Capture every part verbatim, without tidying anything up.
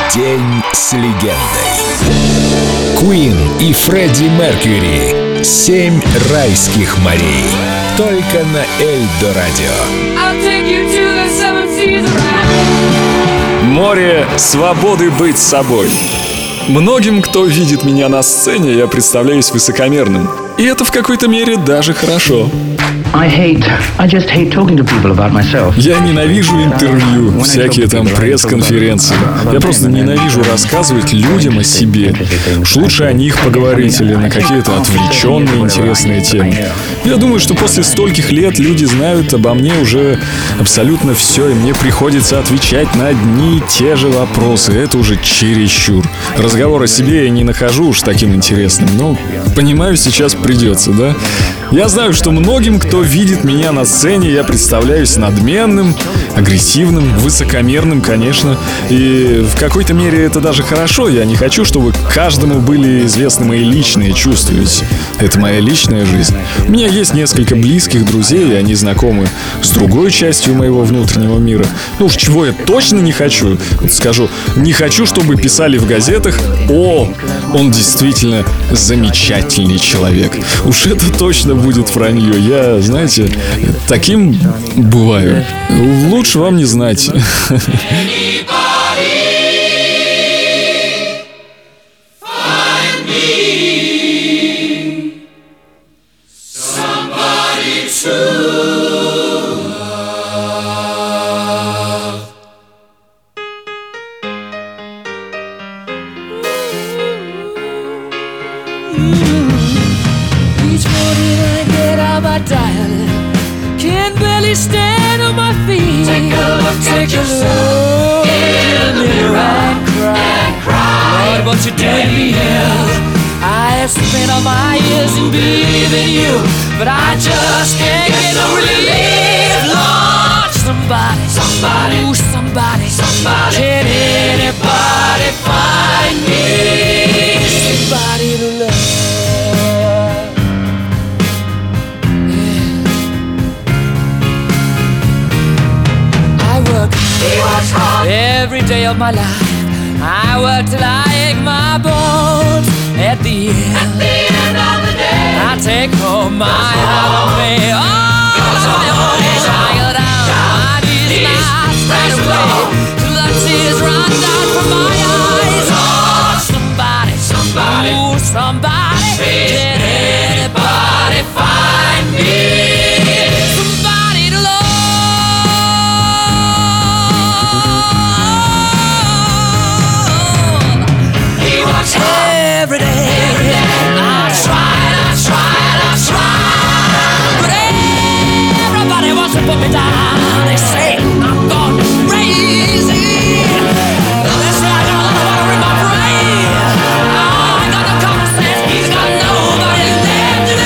День с легендой. Queen и Фредди Меркьюри. Семь райских морей. Только на Эльдо Радио. Море свободы быть собой. Многим, кто видит меня на сцене, я представляюсь высокомерным. И это в какой-то мере даже хорошо. I hate, I just hate talking to people about myself. Я ненавижу интервью, всякие там пресс-конференции. Я просто ненавижу рассказывать людям о себе. Уж лучше о них поговорить или на какие-то отвлеченные интересные темы. Я думаю, что после стольких лет люди знают обо мне уже абсолютно все, и мне приходится отвечать на одни и те же вопросы. Это уже чересчур. Разговор о себе я не нахожу уж таким интересным, но, понимаю, сейчас придется, да? Я знаю, что многим, кто видит меня на сцене, я представляюсь надменным, агрессивным, высокомерным, конечно. И в какой-то мере это даже хорошо. Я не хочу, чтобы каждому были известны мои личные чувства, ведь это моя личная жизнь. У меня есть несколько близких друзей, и они знакомы с другой частью моего внутреннего мира. Ну уж чего я точно не хочу, вот скажу, не хочу, чтобы писали в газетах: «О, он действительно замечательный человек». Уж это точно будет вранье. Я, знаете, таким бываю. Лучше вам не знать. Each morning I get out my diary, can barely stand on my feet. Take a look Take at yourself in the mirror and cry. and cry. Lord, what you did to me here. I have spent all my years in believing you, but I just can't get no relief. Lord, somebody, somebody, ooh, somebody, somebody. Can anybody find me somebody to love? Every day of my life, I work till I ache my bones. At the end, At the end of the day, I take home my heart on me. All on my own, I go down my knees and I straight away till the tears run down from my eyes. Oh, somebody, somebody, ooh, somebody, can anybody find me? Every day, Every day. I tried, I tried, I tried, but everybody wants to put me down. They say I'm gone crazy. They say I got a lot of water in my brain. Oh, I got no common sense. He's got nobody left to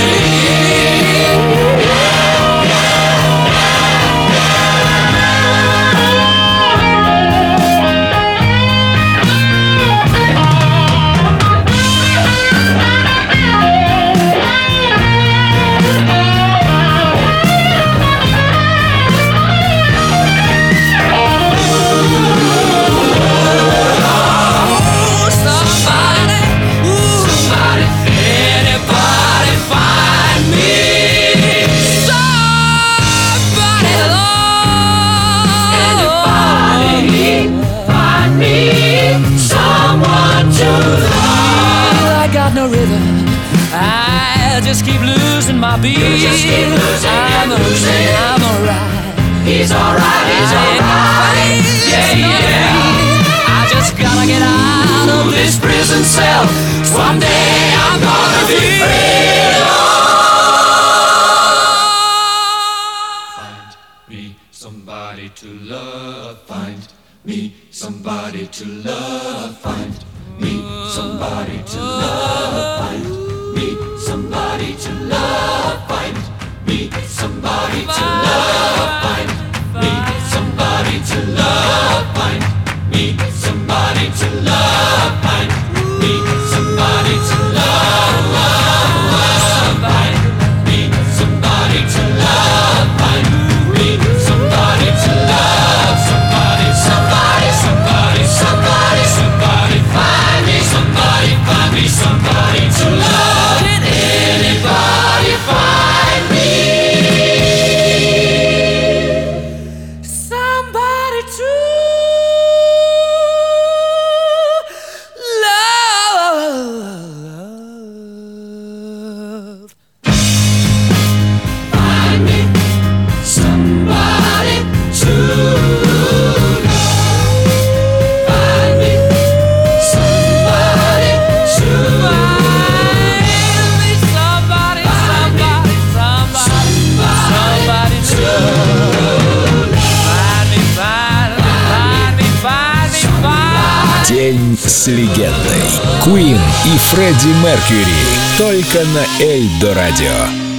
just keep losing my beat. You just keep losing, I'm a losing. I'm alright. He's alright, he's alright. Yeah, yeah. I just gotta get out of this prison cell. Someday I'm gonna be free. Find me somebody to love. Find me somebody to love. Find me somebody to love. Find me somebody to love, find me somebody to love, find me somebody to love, find me somebody to love, find me somebody to love, find me somebody to love, find me somebody to love, somebody, somebody, somebody, somebody, somebody. День с легендой. Queen и Фредди Меркьюри. Только на Эльдо Радио.